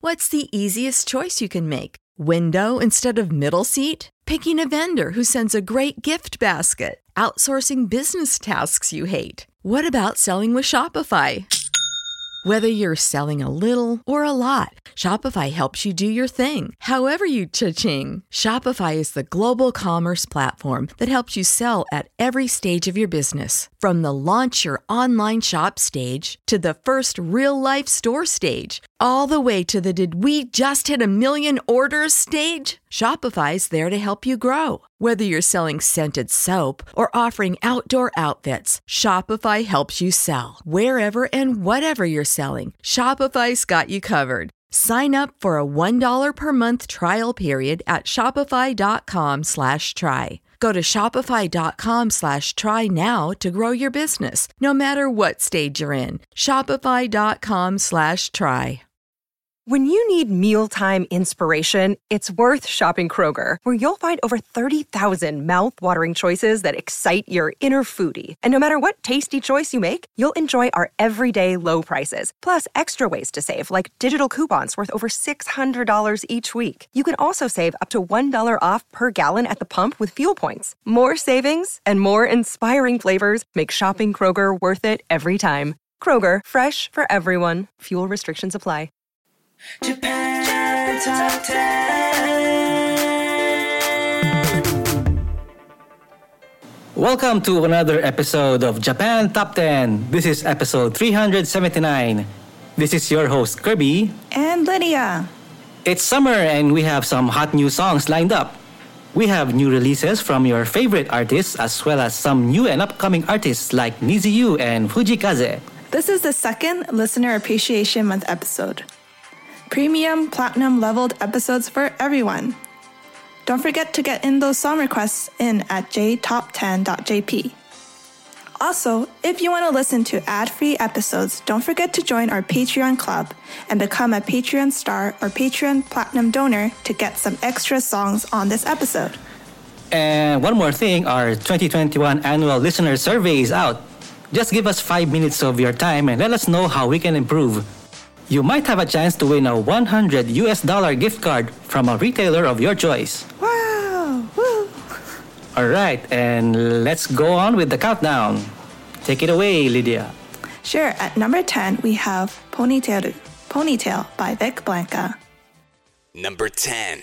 What's the easiest choice you can make? Window instead of middle seat? Picking a vendor who sends a great gift basket? Outsourcing business tasks you hate? What about selling with Shopify? Whether you're selling a little or a lot, Shopify helps you do your thing, however you cha-ching. Shopify is the global commerce platform that helps you sell at every stage of your business. From the launch your online shop stage to the first real-life store stage, all the way to the did we just hit a million orders stage. Shopify's there to help you grow. Whether you're selling scented soap or offering outdoor outfits, Shopify helps you sell. Wherever and whatever you're selling, Shopify's got you covered. Sign up for a $1 per month trial period at shopify.com/try. Go to shopify.com/try now to grow your business, no matter what stage you're in. Shopify.com/try. When you need mealtime inspiration, it's worth shopping Kroger, where you'll find over 30,000 mouth-watering choices that excite your inner foodie. And no matter what tasty choice you make, you'll enjoy our everyday low prices, plus extra ways to save, like digital coupons worth over $600 each week. You can also save up to $1 off per gallon at the pump with fuel points. More savings and more inspiring flavors make shopping Kroger worth it every time. Kroger, fresh for everyone. Fuel restrictions apply. Japan Top 10. Welcome to another episode of Japan Top 10. This is episode 379. This is your host Kirby and Lydia. It's summer and we have some hot new songs lined up. We have new releases from your favorite artists as well as some new and upcoming artists like Niziu and Fujikaze. This is the second Listener Appreciation Month episode. Premium, platinum leveled episodes for everyone. Don't forget to get in those song requests in at jtop10.jp. Also, if you want to listen to ad-free episodes, don't forget to join our Patreon club and become a Patreon star or Patreon platinum donor to get some extra songs on this episode. And one more thing, our 2021 annual listener survey is out. Just give us 5 minutes of your time and let us know how we can improve. You might have a chance to win a $100 gift card from a retailer of your choice. Wow! Woo! Alright, and let's go on with the countdown. Take it away, Lydia. Sure, at number 10 we have Ponytail by Vic Blanca. Number 10.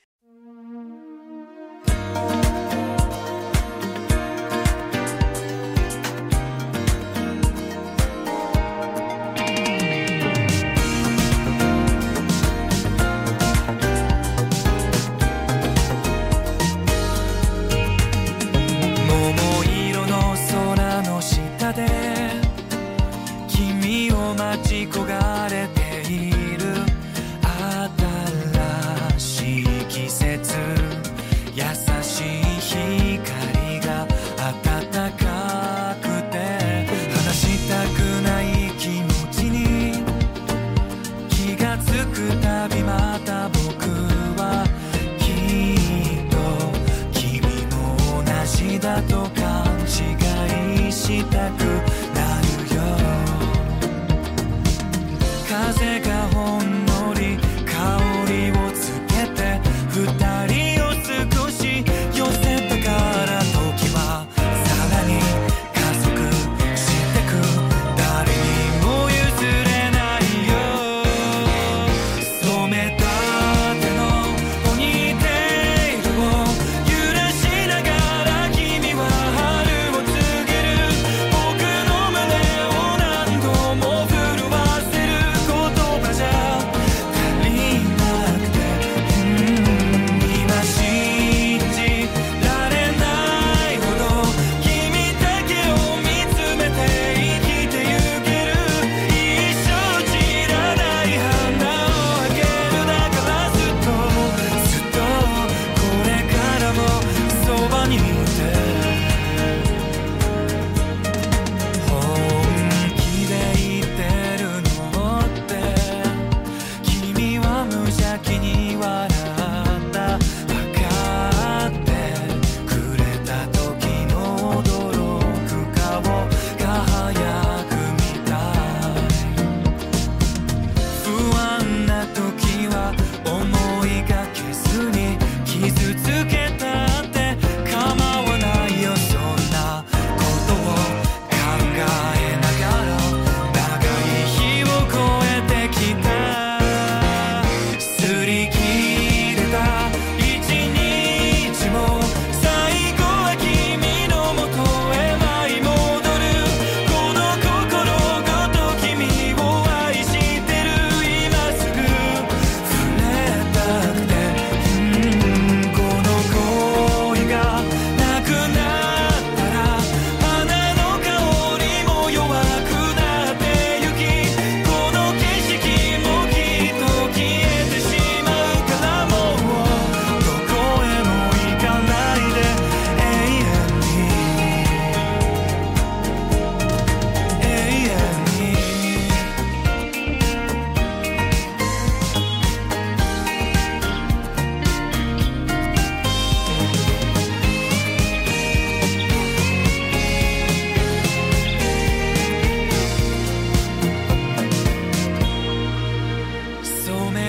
君を待ち焦がれている新しい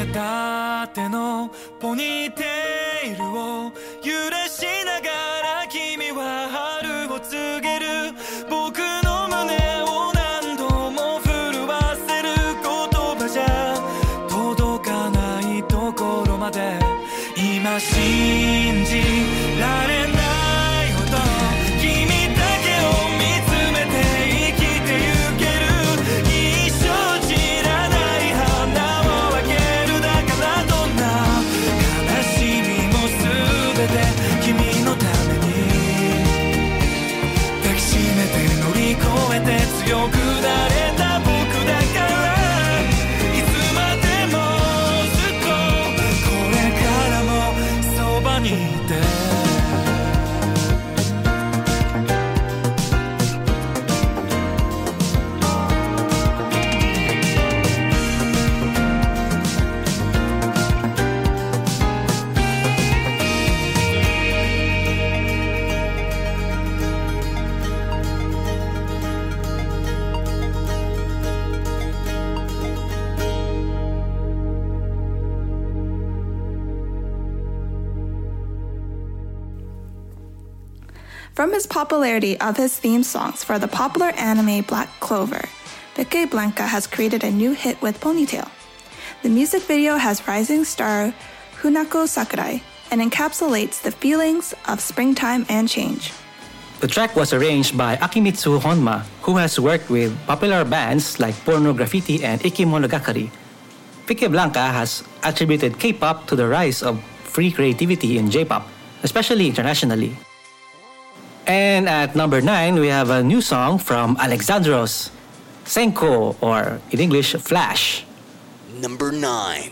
片手のポニーテールを揺らしながら君は春を告げる僕の胸を何度も震わせる言葉じゃ届かないところまで今信じられないほど君だけを見つめて生きてゆける一生散らない花をあげるだからどんな悲しみも全て君のために抱きしめて乗り越えて強くなれた僕だからいつまでもずっとこれからもそばにいて From his popularity of his theme songs for the popular anime Black Clover, Vicky Blanca has created a new hit with Ponytail. The music video has rising star Hunako Sakurai and encapsulates the feelings of springtime and change. The track was arranged by Akimitsu Honma, who has worked with popular bands like Porno Graffiti and Ikimonogatari. Vicky Blanca has attributed K-pop to the rise of free creativity in J-pop, especially internationally. And at number 9, we have a new song from Alexandros, Senko, or in English, Flash. Number 9.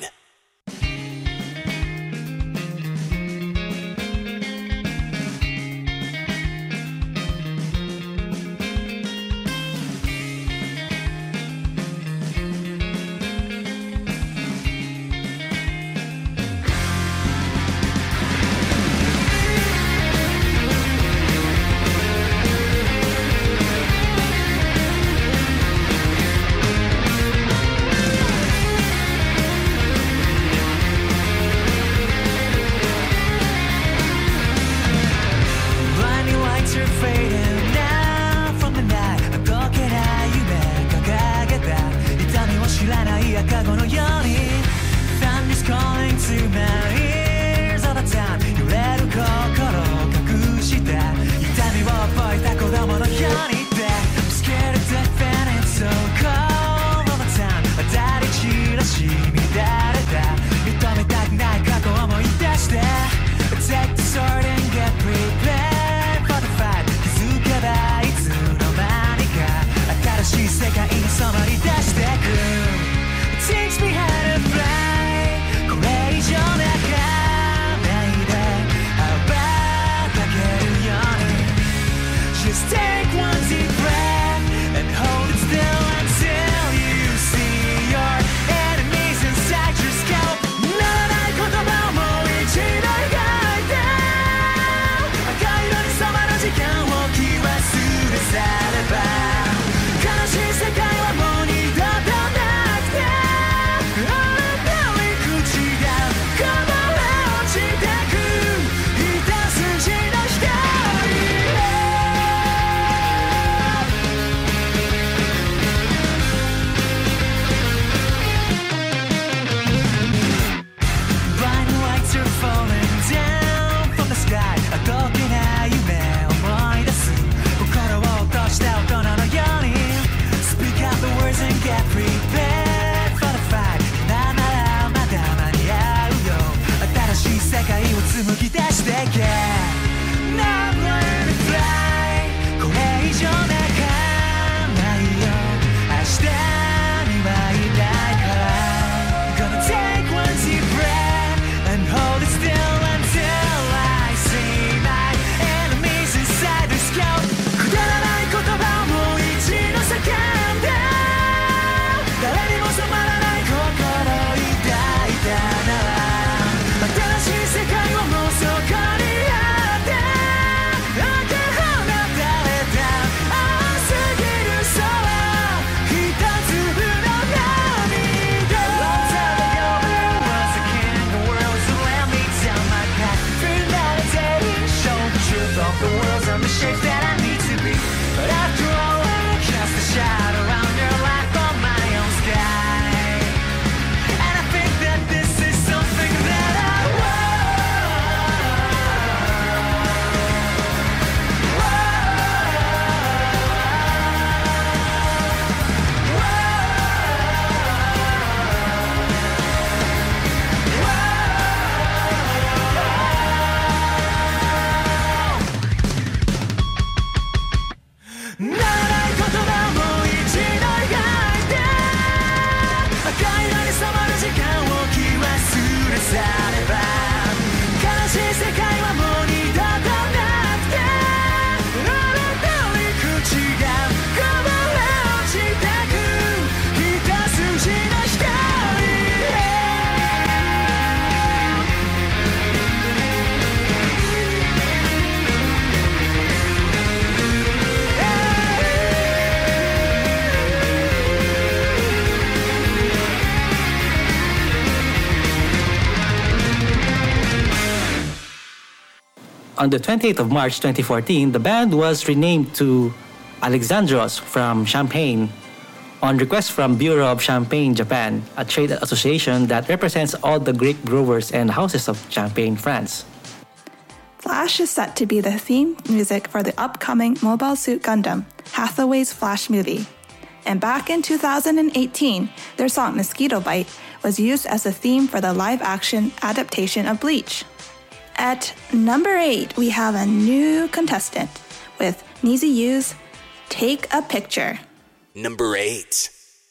On the 28th of March 2014, the band was renamed to Alexandros from Champagne on request from Bureau of Champagne Japan, a trade association that represents all the grape growers and houses of Champagne, France. Flash is set to be the theme music for the upcoming Mobile Suit Gundam, Hathaway's Flash movie. And back in 2018, their song Mosquito Bite was used as a theme for the live-action adaptation of Bleach. At number 8, we have a new contestant with NiziU's Take a Picture. Number 8.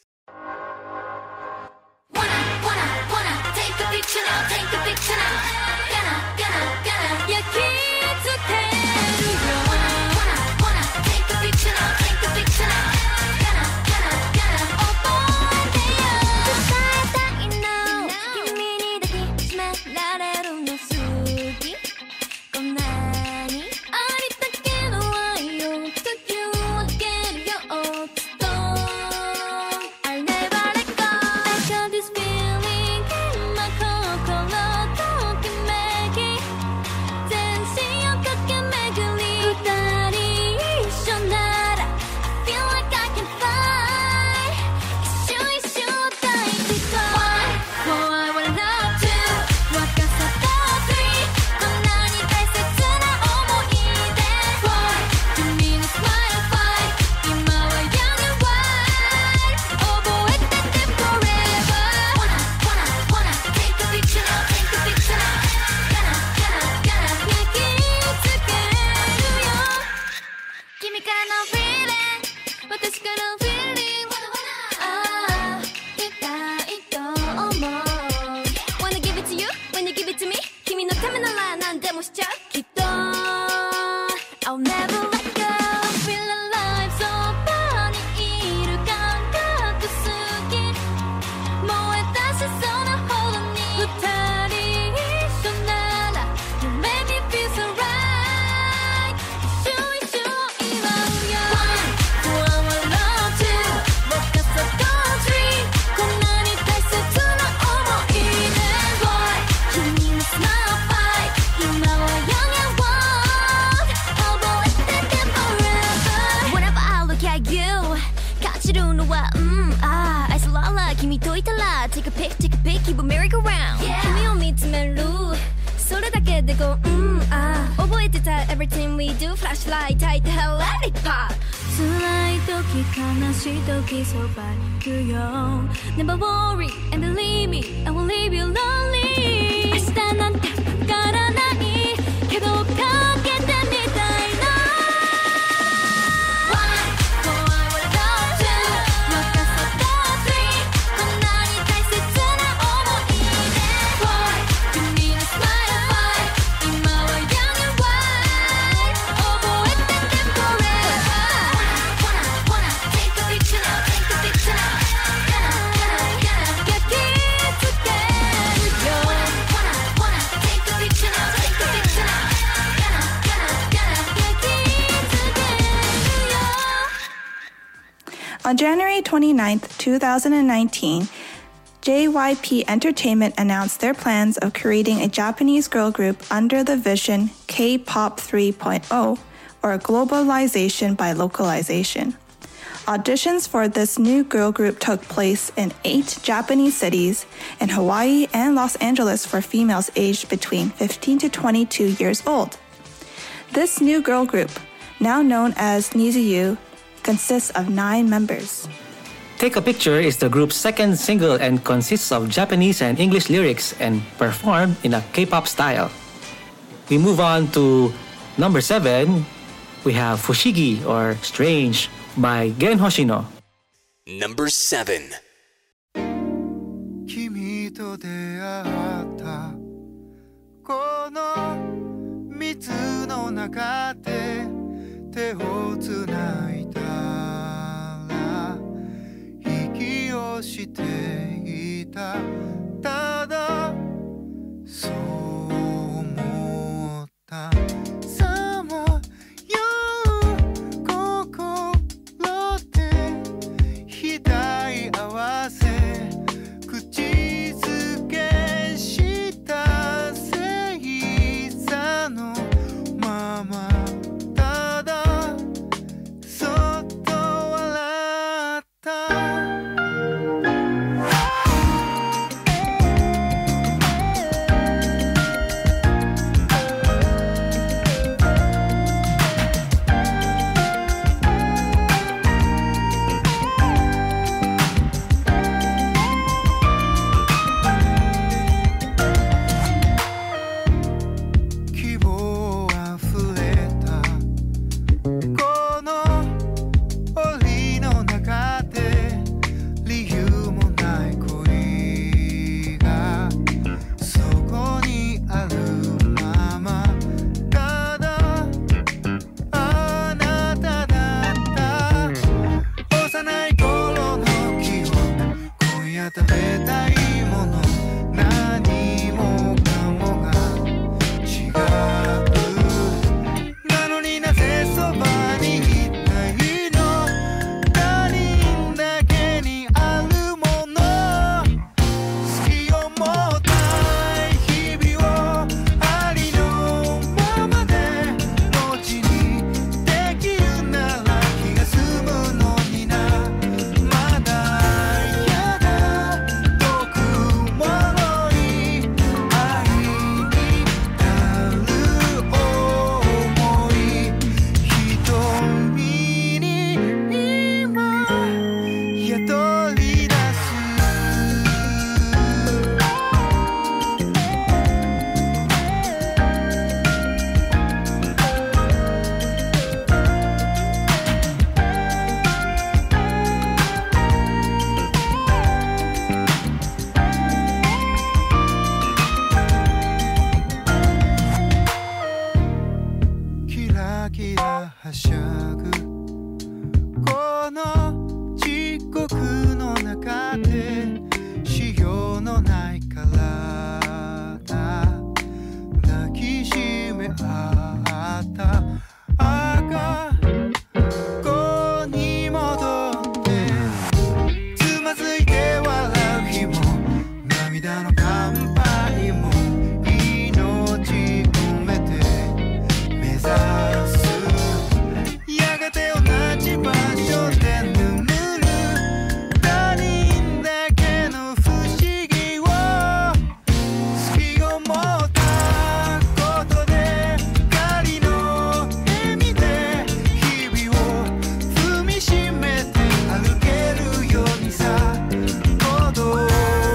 Wanna take a picture now, take a picture now. Gonna, yeah, kids will tell you. Wanna take a picture now, take a picture now. Gonna, oh boy, they are. Decide now, kimi ni daki shimerareru no sugi. Konani, aritakeru wa yo, toki wo ageru yo, otsuto. I'll never let go. I got this feeling in my kokoro, tokimeki. Zenshin o kakemeguri, futari issho nara. I feel like I can fly. Isshu o taikiko. 1, I wanna love 2, 若さと 3, こんなに大切な想い出 4, 君の smile 5, 今は young and wild. 覚えてて forever. Wanna take a picture now, take a picture now. Gonna 焼き付けるよ。君からの feeling, 私からの feeling. 痛いと思う。Wanna give it to you, when you give it to me. 君のためなら何でもしちゃう。きっと I'll never let go. Feel alive, そばにいる感覚好き。燃え出しそうなほどに二人一緒なら You make me feel so right. 一緒を祝うよ。1, I wanna love 2, 若さと 3, こんなに大切な想い出 4, 君の smile 5, 今は young and wild. 覚えてて forever. Whenever I look at you, 感じるのは愛すらら君といたら Take a pic, take a pic, keep a merry go round. 君を見つめるそれだけで覚えてた Everything we do, flashlight 焚いて Hell let it pop. 辛い時悲しい時そばにいるよ Never worry and believe me, I won't leave you lonely. 明日なんてわからないけどかけてみたいな。 1, I wanna love 2, 若さと 3, こんなに大切な想い出 4, 君の smile 5, 今は young and wild. 覚えてて forever. Wanna take a picture now, take a picture now. Gonna 焼き付けるよ。Wanna take a picture now, take a picture now. Gonna 焼き付けるよ。 On January 29th, 2019, JYP Entertainment announced their plans of creating a Japanese girl group under the vision K-pop 3.0, or globalization by localization. Auditions for this new girl group took place in 8 Japanese cities, in Hawaii and Los Angeles for females aged between 15 to 22 years old. This new girl group, now known as NiziU, consists of 9 members. Take a Picture is the group's second single and consists of Japanese and English lyrics and performed in a K-pop style. We move on to number 7. We have Fushigi or Strange by Gen Hoshino. Number 7. 君と出会ったこの水の中で手をつないだら息をしていたただそう思ったさまよう心で額合わせ口づけした星座のはしゃぐこの地獄の中でしようのない体抱きしめ合った赤子に戻ってつまずいて笑う日も涙の乾杯も命込めて目指すやがて同じ場所で眠る他人だけの不思議を好きを持ったことで仮の笑みで日々を踏みしめて歩けるようにさ孤独の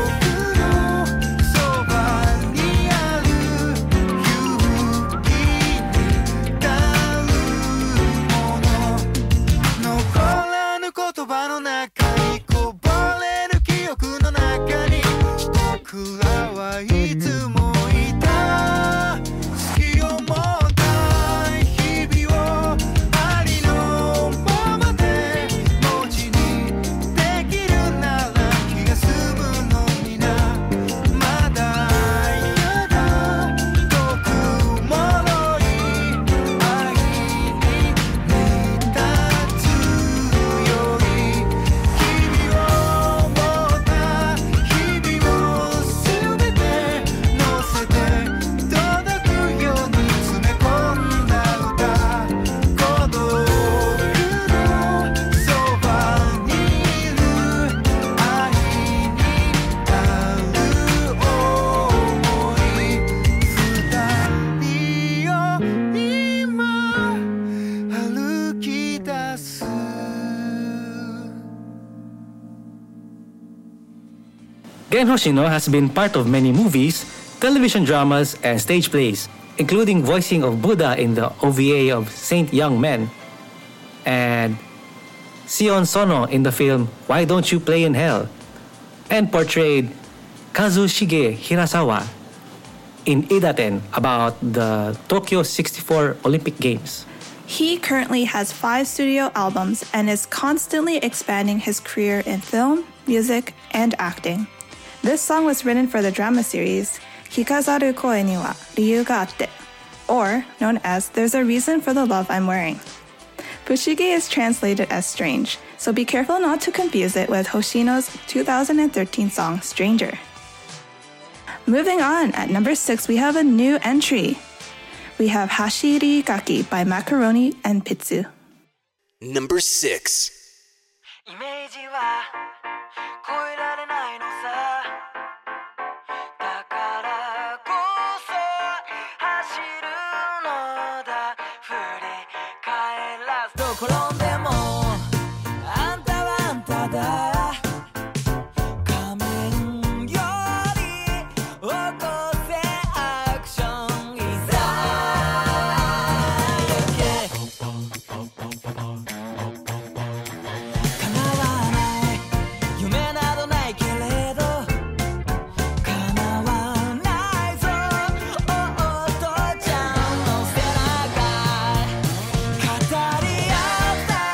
そばにある勇気になるもの残らぬ言葉の中にこぼれる記憶の中に僕らはいつもいた好きを持った日々をありのままで文字にできるなら気が済むのになまだやだ遠くもろい愛に見立つより日々を持った日々を全て乗せて届くように詰め込んだ歌孤独のそばにいる愛になる想い二人を今歩き出す Gen Hoshino has been part of many movies, television dramas, and stage plays, including voicing of Buddha in the OVA of Saint Young Men, and Sion Sono in the film Why Don't You Play in Hell, and portrayed Kazushige Hirasawa in Idaten about the Tokyo 64 Olympic Games. He currently has 5 studio albums and is constantly expanding his career in film, music, and acting. This song was written for the drama series Hikazaru Koe ni wa Ryu ga atte, or known as There's a Reason for the Love I'm Wearing. Fushigi is translated as strange, so be careful not to confuse it with Hoshino's 2013 song Stranger. Moving on, at number 6 we have a new entry. We have Hashiri Gaki by Macaroni and Pizzu. Number 6. イメージは超えられないのさだからこそ走るのだ振り返らずどこ転んでもあんたはあんただ仮面より起こせアクションいざ行け叶わない夢などないけれど叶わないぞお父ちゃんの背中語り合った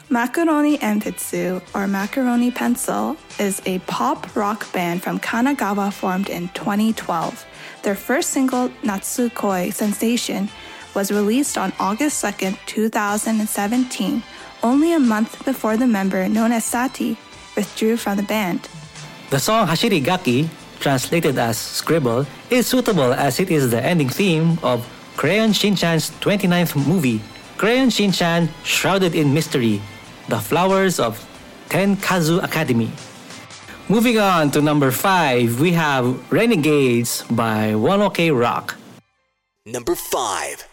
Macaroni Enpitsu, or Macaroni Pencil, is a pop rock band from Kanagawa formed in 2012. Their first single, Natsukoi Sensation, was released on August 2nd, 2017, only a month before the member known as Sati withdrew from the band. The song Hashirigaki, translated as Scribble, is suitable as it is the ending theme of Crayon Shin-chan's 29th movie, Crayon Shin-chan Shrouded in Mystery, The Flowers of Tenkazu Academy. Moving on to number 5, we have Renegades by One OK Rock. Number 5.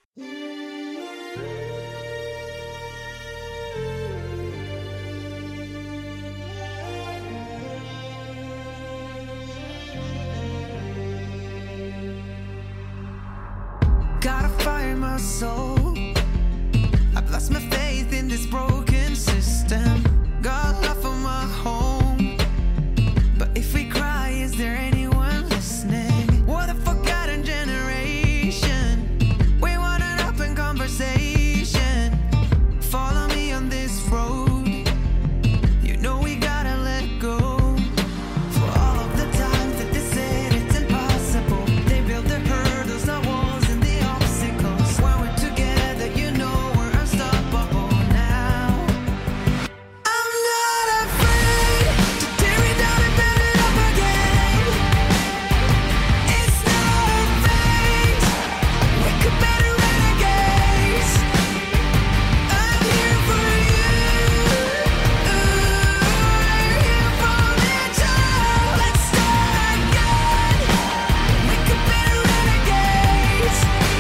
Gotta find my soul. I've lost my faith in this broken system. Got love for my home. But if we cry, is there anyone listening? What a forgotten generation. We want an open conversation. Follow me on this road. You know we gotta let go. For all of the times that they said it's impossible, they built the hurdles, the walls, and the obstacles. When we're together, you know we're unstoppable now. I'm not afraid to tear it down and build it up again. It's not a fate. We could better renegades. I'm here for you. We're here for each other. Let's start again. We could better renegades.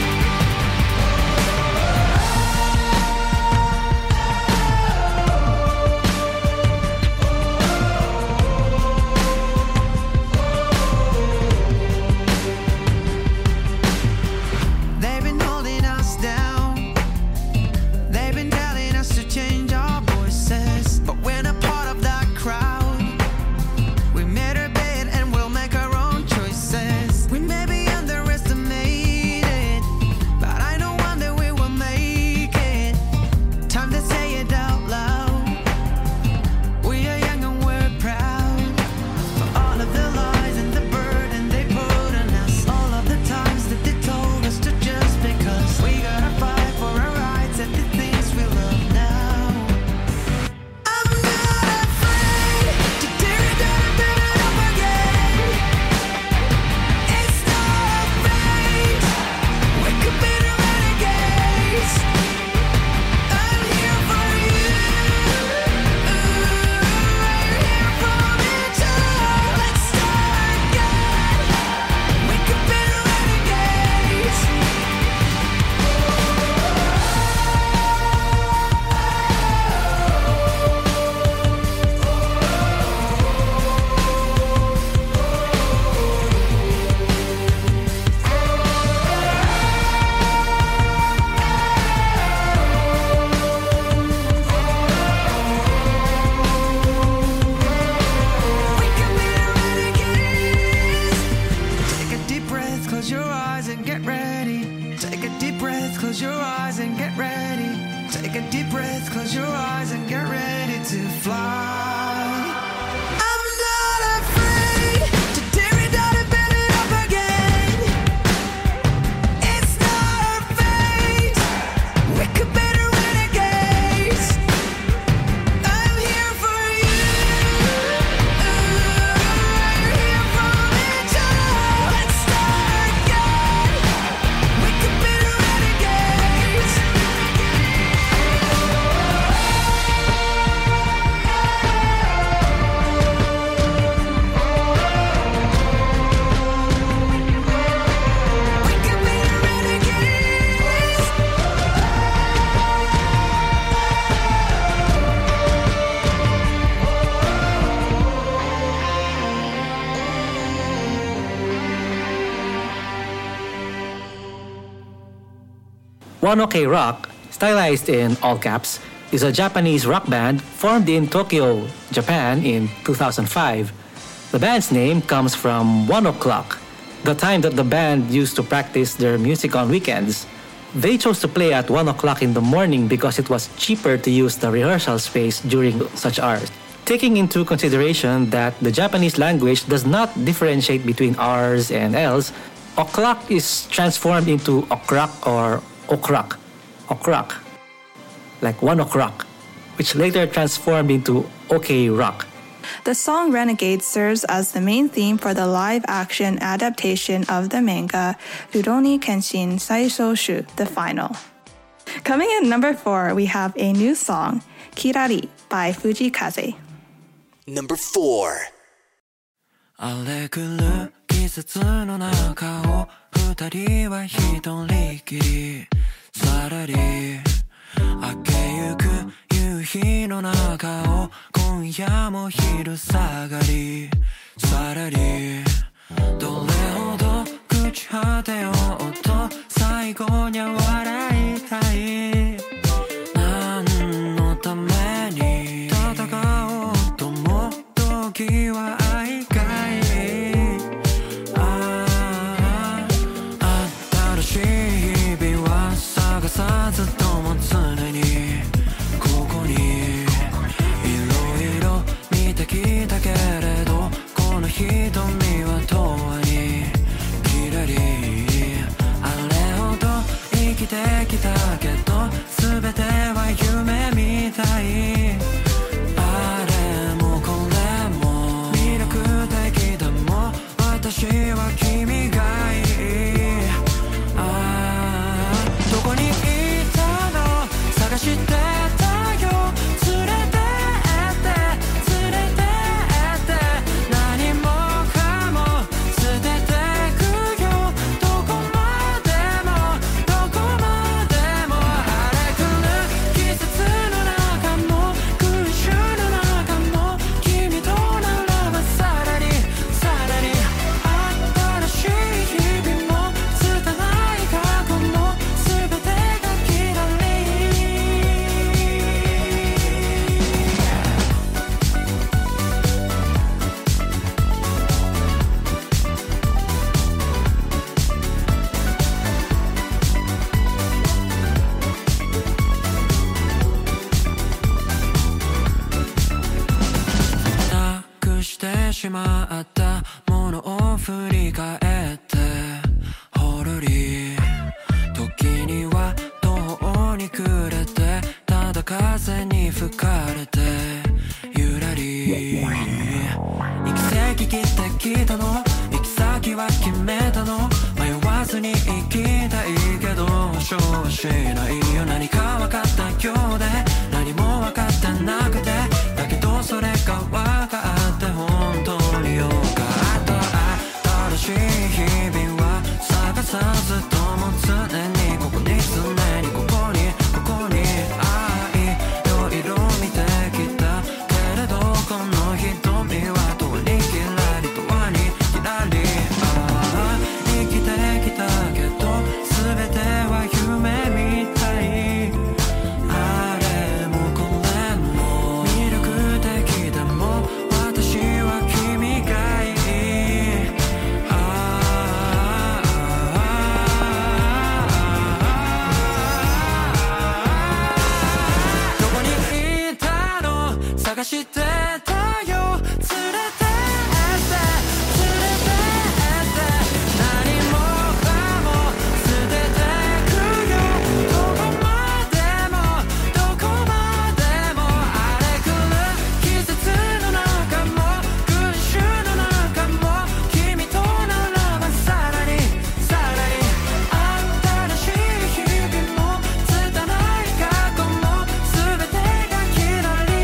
They've been holding us down. They've been telling us to change our voices, but we're not part of that crowd. We made our bed and we'll make our own choices. We may be underestimated, but I know one day we will make it. Time to say it out loud. We are young and we're proud. For all of the lies and the burden they put on us, all of the times that they told us to just because we gotta fight for our rights and the things we love now. I'm not afraid to tear it down and build it up again. It's not a fate. We could be the renegades. I'm here for you. We're here for each other. Let's start again. We could be the renegades. We can be the renegades. Take a deep breath, close your eyes and get ready. Take a deep breath, close your eyes and get ready. Take a deep breath, close your eyes and get ready to fly. I'm not afraid to tear it down and build it up again. It's not our fate. We could be the renegades. I'm here for you. We're here for each other. Let's start again. We could be the renegades. We could be the renegades. One OK Rock, stylized in all caps, is a Japanese rock band formed in Tokyo, Japan in 2005. The band's name comes from 1 o'clock, the time that the band used to practice their music on weekends. They chose to play at 1 o'clock in the morning because it was cheaper to use the rehearsal space during such hours. Taking into consideration that the Japanese language does not differentiate between R's and L's, o'clock is transformed into okrak or okrak, like 1 o'clock, which later transformed into OK Rock. The song Renegade serves as the main theme for the live-action adaptation of the manga Rurouni Kenshin Saishoshu, The Final. Coming in number 4, we have a new song, Kirari by Fujikaze. Number 4. 荒れ狂う季節の中を二人は一人きりさらり明けゆく夕日の中を今夜も昼下がりさらりどれほど朽ち果てようと最後には笑いたい何のために戦おうとも時は愛かい新しい日々は探さずとも常にここにいろいろ見てきたけれどこの瞳は永遠にきらりあれほど生きてきたけど全ては夢みたいあれもこれも魅力的だもん私は君がいいどこにいたの探してたよ連れてって連れてって何もかも捨ててくよどこまでもどこまでも荒れ狂う季節の中も空襲の中も君とならばさらにさらに新しい日々も拙い過去も全てがきらりなくしてしまったものを振り返ってほろり時には途方に暮れてただ風に吹かれてゆらり行き先切ってきたの行き先は決めたの迷わずに行きたいけど保証はしないよ何か分かったようで何も分かってなくてだけどそれが分かって本当によかった新しい日々は探さずとも常にここに常にここに愛の色見てきたけれどこの瞳は遠にきらり遠にきらり生きてきたけど全ては夢みたいあれもこれも魅力的でも私は君がいいどこにいたの探してたよ連れてって連れてって何もかも捨ててくよどこまでもどこまでも荒れ狂う季節の中も群衆の中も君とならばさらにさらに新しい日々も拙い過去も全てがきらり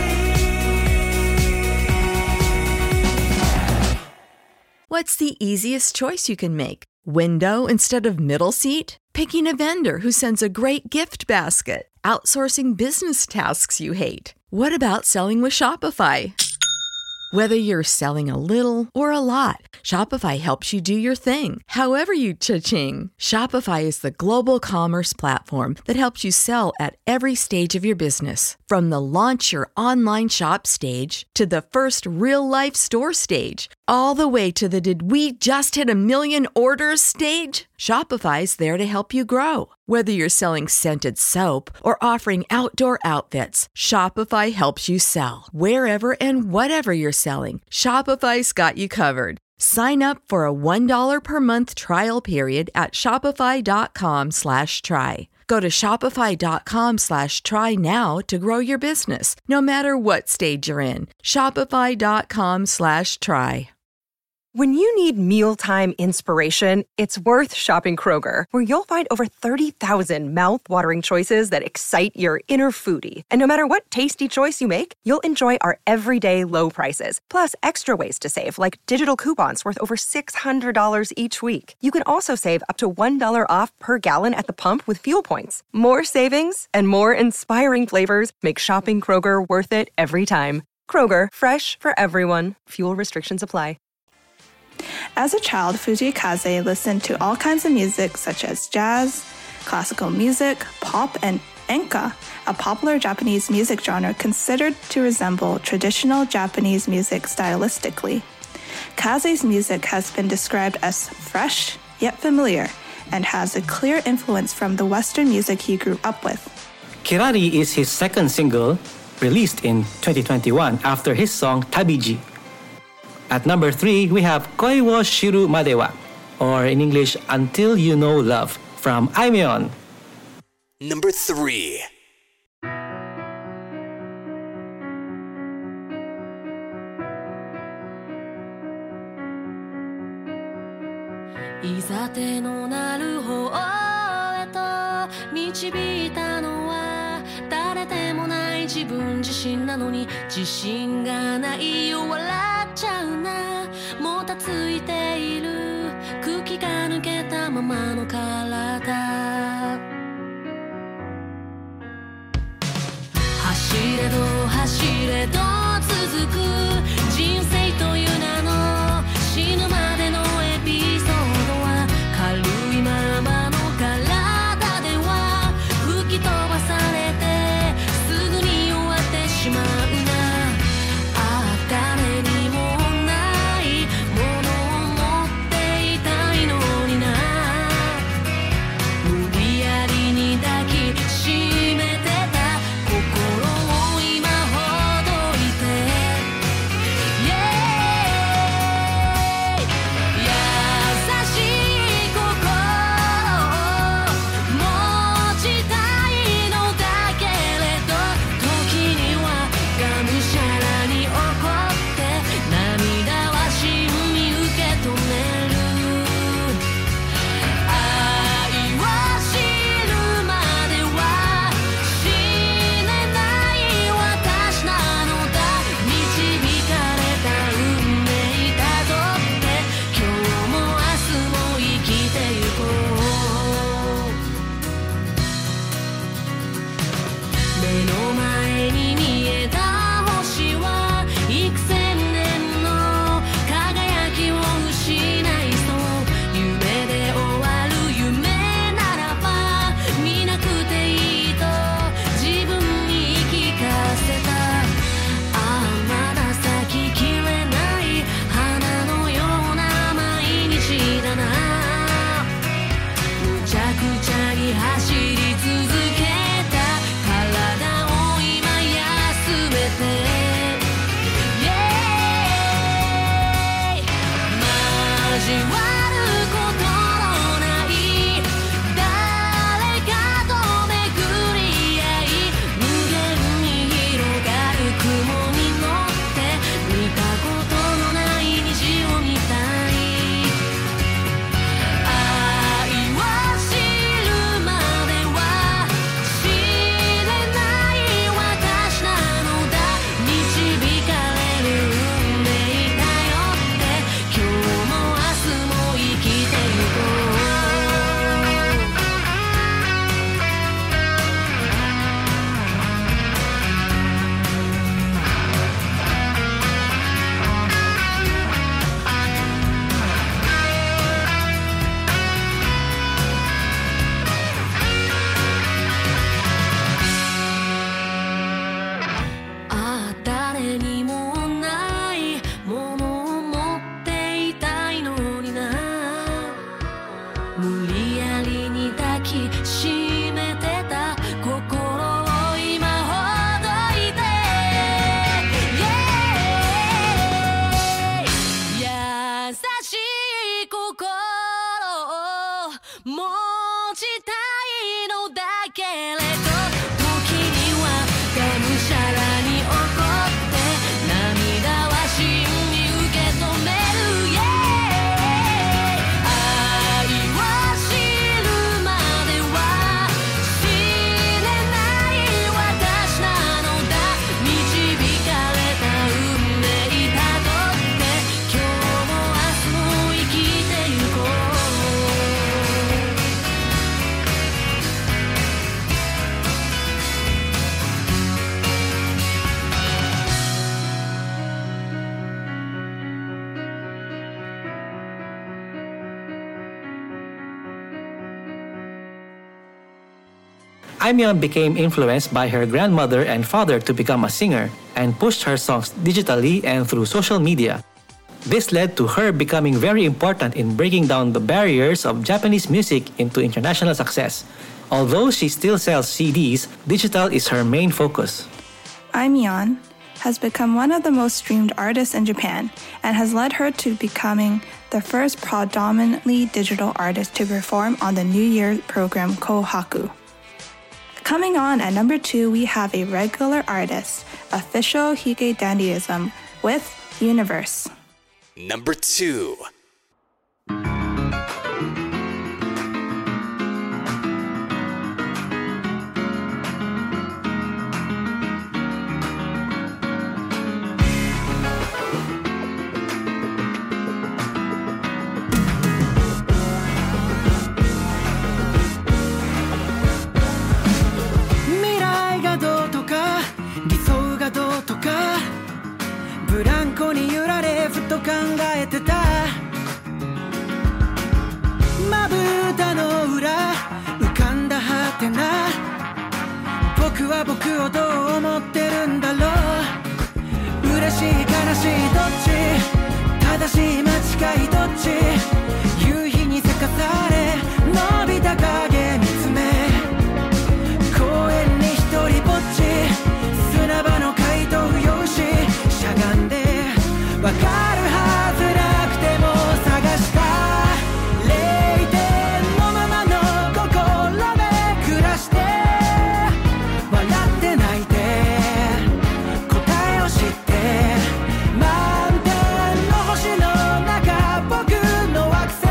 What's the easiest choice you can make? Window instead of middle seat? Picking a vendor who sends a great gift basket? Outsourcing business tasks you hate? What about selling with Shopify? Whether you're selling a little or a lot, Shopify helps you do your thing, however you cha-ching. Shopify is the global commerce platform that helps you sell at every stage of your business. From the launch your online shop stage to the first real-life store stage, all the way to the "did we just hit a million orders" stage? Shopify's there to help you grow. Whether you're selling scented soap or offering outdoor outfits, Shopify helps you sell. Wherever and whatever you're selling, Shopify's got you covered. Sign up for a $1 per month trial period at shopify.com/try. Go to shopify.com/try now to grow your business, no matter what stage you're in. Shopify.com/try. When you need mealtime inspiration, it's worth shopping Kroger, where you'll find over 30,000 mouth-watering choices that excite your inner foodie. And no matter what tasty choice you make, you'll enjoy our everyday low prices, plus extra ways to save, like digital coupons worth over $600 each week. You can also save up to $1 off per gallon at the pump with fuel points. More savings and more inspiring flavors make shopping Kroger worth it every time. Kroger, fresh for everyone. Fuel restrictions apply. As a child, Fujikaze listened to all kinds of music such as jazz, classical music, pop, and enka, a popular Japanese music genre considered to resemble traditional Japanese music stylistically. Kaze's music has been described as fresh yet familiar and has a clear influence from the Western music he grew up with. Kirari is his second single, released in 2021 after his song Tabiji. At number 3, we have Koi wo shiru made wa, or in English, Until You Know Love, from Aimyon. Number 3. いざ手のなる方へと導いたのは誰でもない自分自身なのに自信がないよ笑っちゃうなもたついている空気が抜けたままの体走れど走れど続く人生という名の死ぬまでのエピソードは軽いままの体では吹き飛ばされてすぐに終わってしまうなああ誰にもないものを持っていたいのにな無理やりに抱きしめてた心を今 Aimyon became influenced by her grandmother and father to become a singer and pushed her songs digitally and through social media. This led to her becoming very important in breaking down the barriers of Japanese music into international success. Although she still sells CDs, digital is her main focus. Aimyon has become one of the most streamed artists in Japan and has led her to becoming the first predominantly digital artist to perform on the New Year program Kohaku. Coming on at number 2, we have a regular artist, Official Hige Dandyism with Universe. Number 2. ブランコに揺られふと考えてたまぶたの裏浮かんだはてな僕は僕をどう思ってるんだろう嬉しい悲しいどっち正しい間違いどっち夕日にせかされ伸びた影見つめ公園に一人ぼっち砂場の怪盗用紙しゃがんでわかるはずなくても探した0点のままの心で暮らして笑って泣いて答えを知って満天の星の中僕の惑星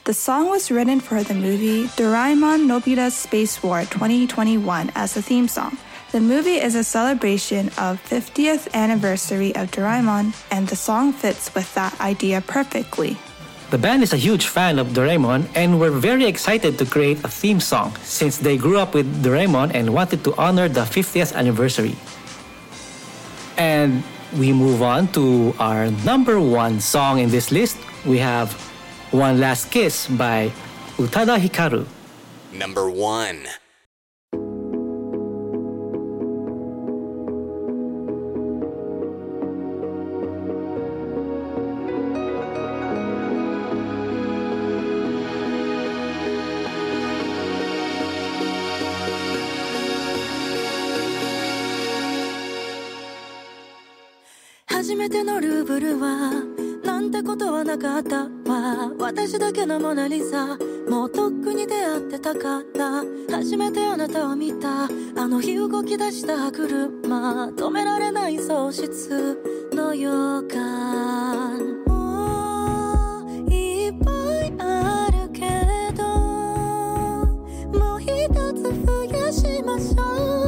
The song was written for the movie Doraemon Nobita's Space War 2021 as a theme song. The movie is a celebration of 50th anniversary of Doraemon, and the song fits with that idea perfectly. The band is a huge fan of Doraemon and were very excited to create a theme song since they grew up with Doraemon and wanted to honor the 50th anniversary. And we move on to our number 1 song in this list. We have One Last Kiss by Utada Hikaru. Number 1. 初めてのルーブルはなんてことはなかったわ私だけのモナリザもうとっくに出会ってたから初めてあなたを見たあの日動き出した車止められない喪失の予感もういっぱいあるけどもう一つ増やしましょう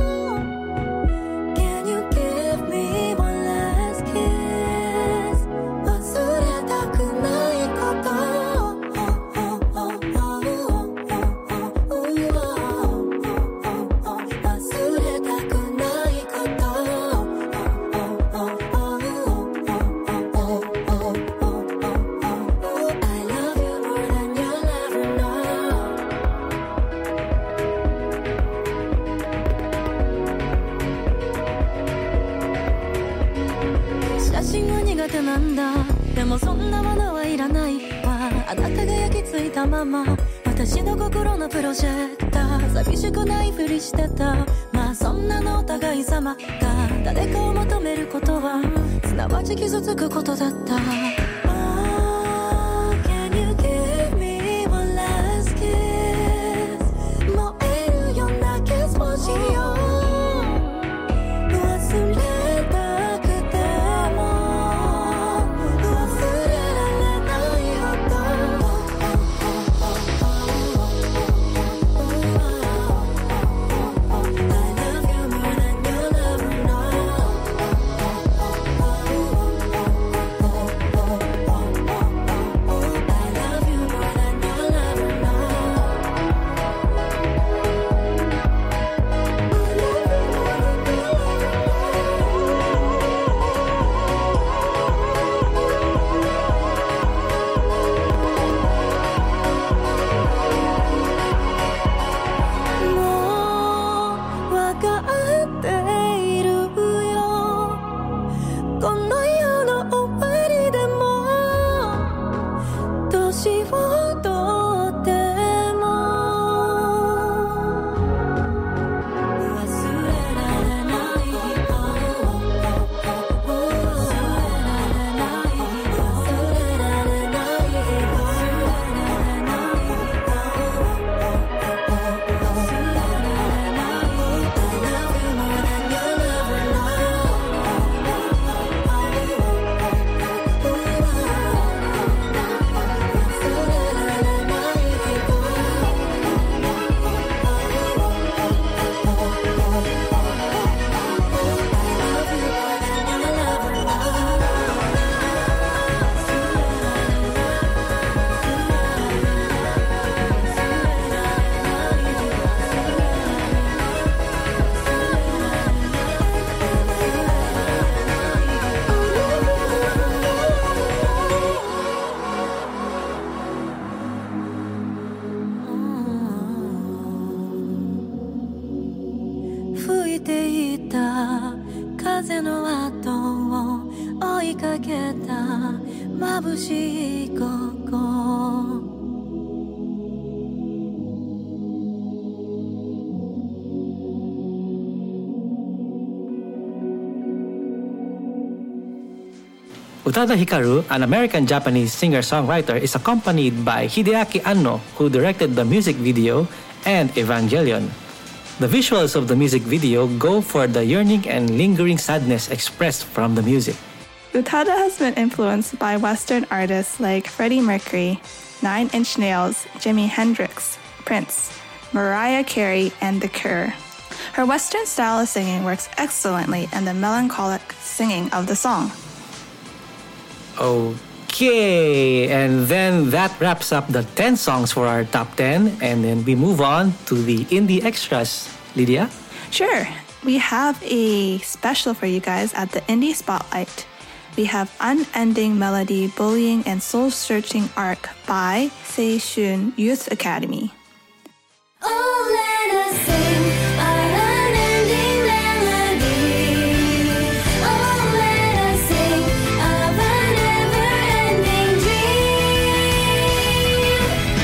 でもそんなものはいらないわあなたが焼き付いたまま私の心のプロジェクター寂しくないふりしてたまあそんなのお互い様が誰かを求めることはすなわち傷つくことだった Oh, can you give me one last kiss 燃えるようなキスをしよう忘れ Utada Hikaru, an American-Japanese singer-songwriter, is accompanied by Hideaki Anno, who directed the music video, and Evangelion. The visuals of the music video go for the yearning and lingering sadness expressed from the music. Utada has been influenced by Western artists like Freddie Mercury, Nine Inch Nails, Jimi Hendrix, Prince, Mariah Carey, and The Cure. Her Western style of singing works excellently in the melancholic singing of the song. Okay, and then that wraps up the 10 songs for our top 10, and then we move on to the indie extras. Lydia? Sure, we have a special for you guys at the Indie Spotlight. We have Unending Melody, Bullying, and Soul-Searching Arc by Seishun Youth Academy. Oh, let us sing our unending melody. Oh, let us sing of a never-ending dream.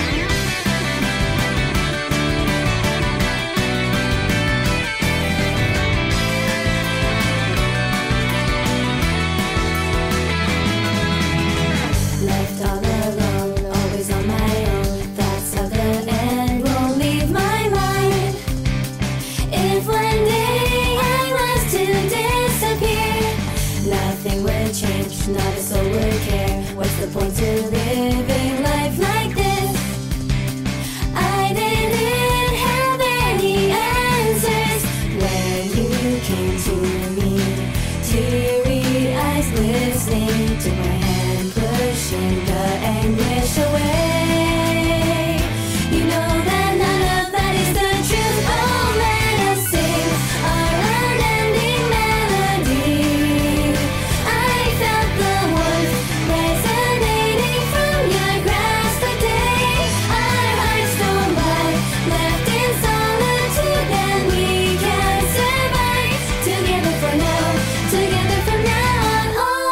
Left all alone, always on my own. Thoughts of the end won't leave my mind. If one day I was to disappear, nothing would change, not a soul would care. What's the point to living life like this? I didn't have any answers when you came to me. Teary eyes listening to my hand pushing the anguish away. You know that none of that is the truth. Oh, let us sing our unending melody. I felt the warmth resonating from your grasp today. Our hearts don't lie, left in solitude, and we can survive together for now, together from now on,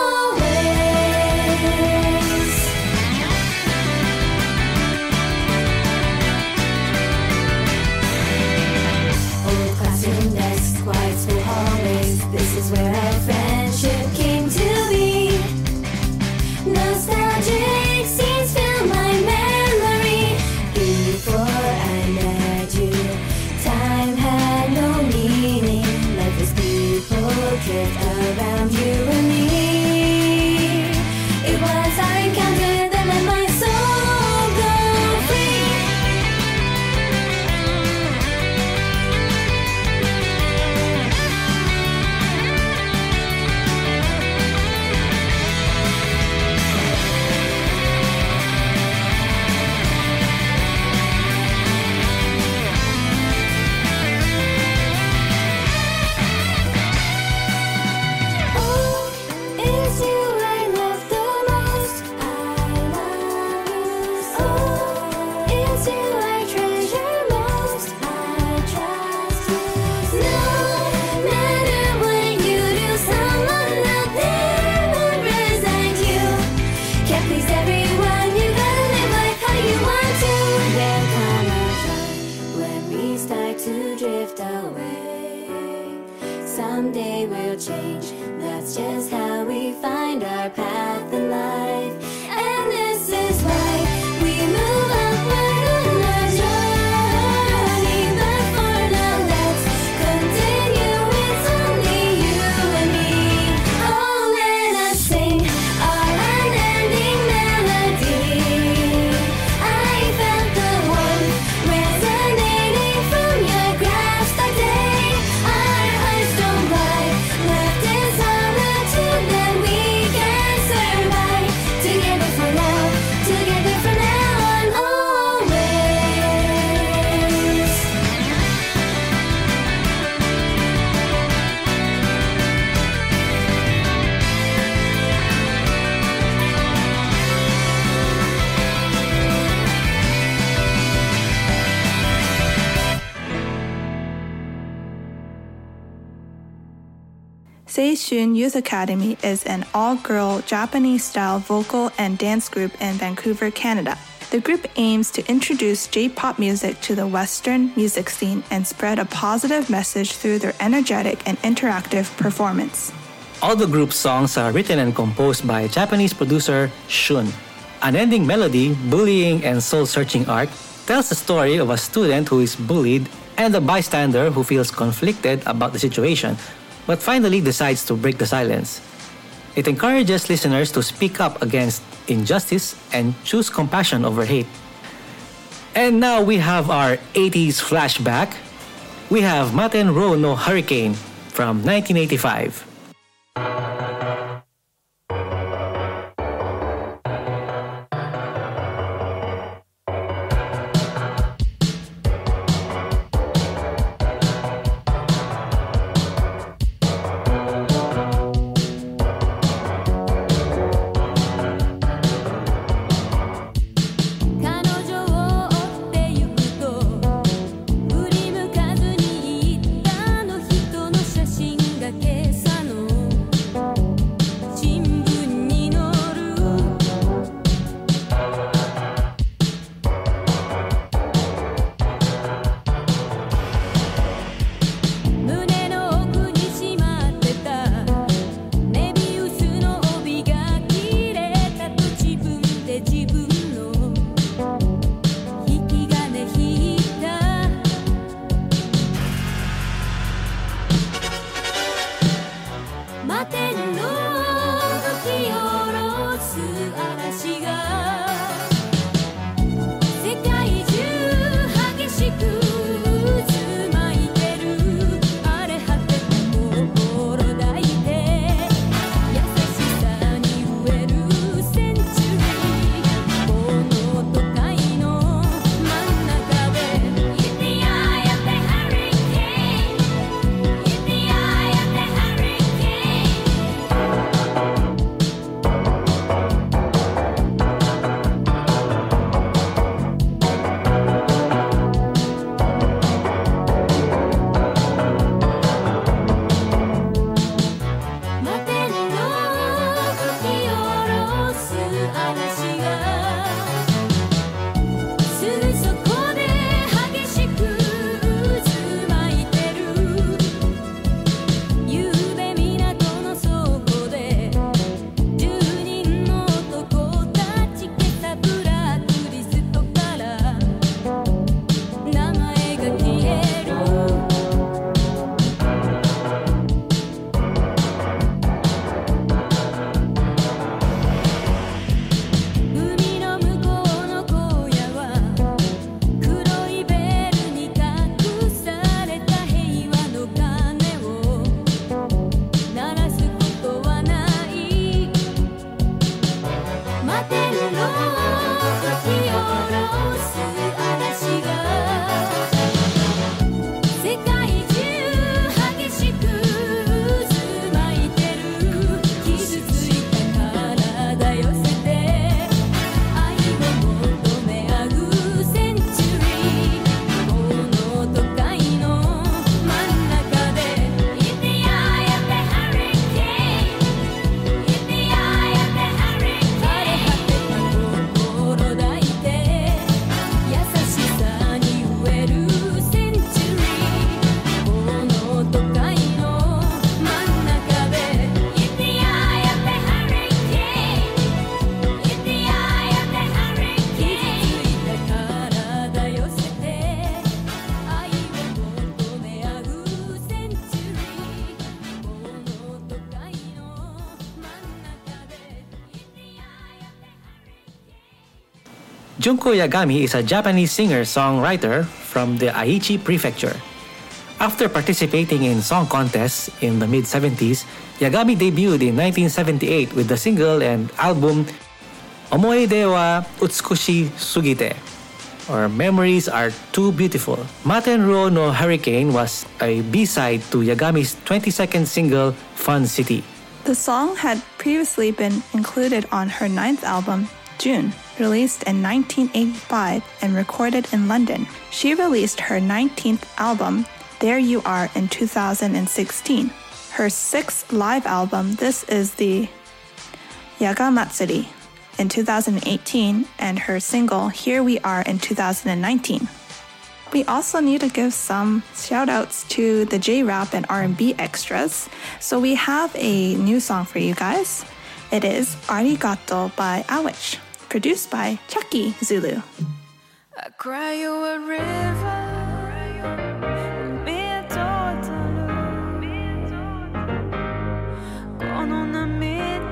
always. Old classroom desks, quiet school hallways. This is where our friendship came to be. Nostalgic scenes fill my memory. Before I met you, time had no meaning. Life as people drift around you and me. It was our encounter that let my soul go free. Oh, it's you I love the most. I love you so. It's you I treasure most. I trust you so. No matter what you do, someone out there won't resent you. Can't please everyone, you gotta live life how you want to. There'll come a time when we start to drift away. Someday we'll change, that's just how we find our path in life. And this is why we move upward on our journey. But for now, let's continue, it's only you and me. Oh, let us sing our unending melody. I felt the warmth resonating from your grasp that day. Our hearts don't lie, left in solitude, then we can survive together for now, together from now on, always. Seishun Youth Academy is an all-girl Japanese-style vocal and dance group in Vancouver, Canada. The group aims to introduce J-pop music to the Western music scene and spread a positive message through their energetic and interactive performance. All the group's songs are written and composed by Japanese producer Shun. Unending Melody, Bullying, and Soul-Searching Arc tells the story of a student who is bullied and a bystander who feels conflicted about the situation, but finally decides to break the silence. It encourages listeners to speak up against injustice and choose compassion over hate. And now we have our 80s flashback. We have Matenro no Hurricane from 1985. 'Junko Yagami is a Japanese singer-songwriter from the Aichi Prefecture. After participating in song contests in the mid-70s, Yagami debuted in 1978 with the single and album Omoide wa Utsukushi Sugite, or Memories Are Too Beautiful. Matenro no Hurricane was a B-side to Yagami's 22nd single, Fun City. The song had previously been included on her 9th album, June, released in 1985 and recorded in London. She released her 19th album, There You Are, in 2016. Her 6th live album, this is the Yagamatsuri, in 2018, and her single, Here We Are, in 2019. We also need to give some shout-outs to the J-Rap and R&B extras. So we have a new song for you guys. It is Arigato by Awich, produced by Chucky Zulu. I cry you a river, be a total, この涙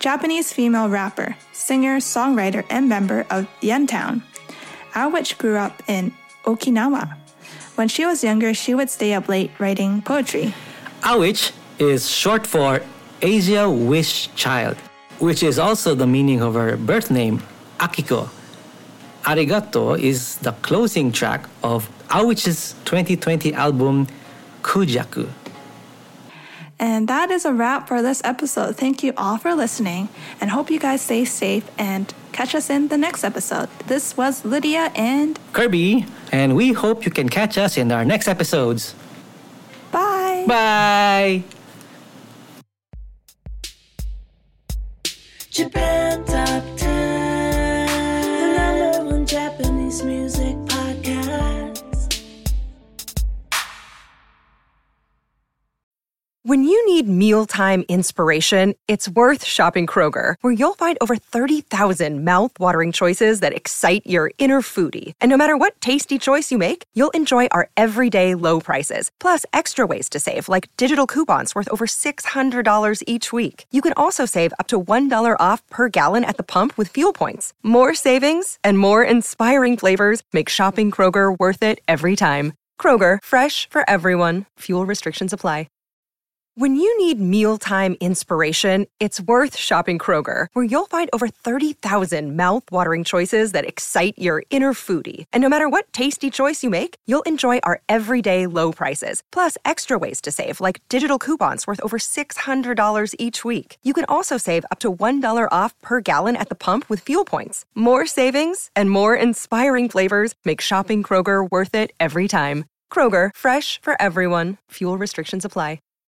Japanese female rapper, singer, songwriter, and member of Yentown. Awich grew up in Okinawa. When she was younger, she would stay up late writing poetry. Awich is short for Asia Wish Child, which is also the meaning of her birth name, Akiko. Arigato is the closing track of Awich's 2020 album, Kujaku. And that is a wrap for this episode. Thank you all for listening and hope you guys stay safe and catch us in the next episode. This was Lydia and Kirby, and we hope you can catch us in our next episodes. bye. Bye! Japan Top 10, the number one Japanese music podcast. When you need mealtime inspiration, it's worth shopping Kroger, where you'll find over 30,000 mouth-watering choices that excite your inner foodie. And no matter what tasty choice you make, you'll enjoy our everyday low prices, plus extra ways to save, like digital coupons worth over $600 each week. You can also save up to $1 off per gallon at the pump with fuel points. More savings and more inspiring flavors make shopping Kroger worth it every time. Kroger, fresh for everyone. Fuel restrictions apply. When you need mealtime inspiration, it's worth shopping Kroger, where you'll find over 30,000 mouth-watering choices that excite your inner foodie. And no matter what tasty choice you make, you'll enjoy our everyday low prices, plus extra ways to save, like digital coupons worth over $600 each week. You can also save up to $1 off per gallon at the pump with fuel points. More savings and more inspiring flavors make shopping Kroger worth it every time. Kroger, fresh for everyone. Fuel restrictions apply.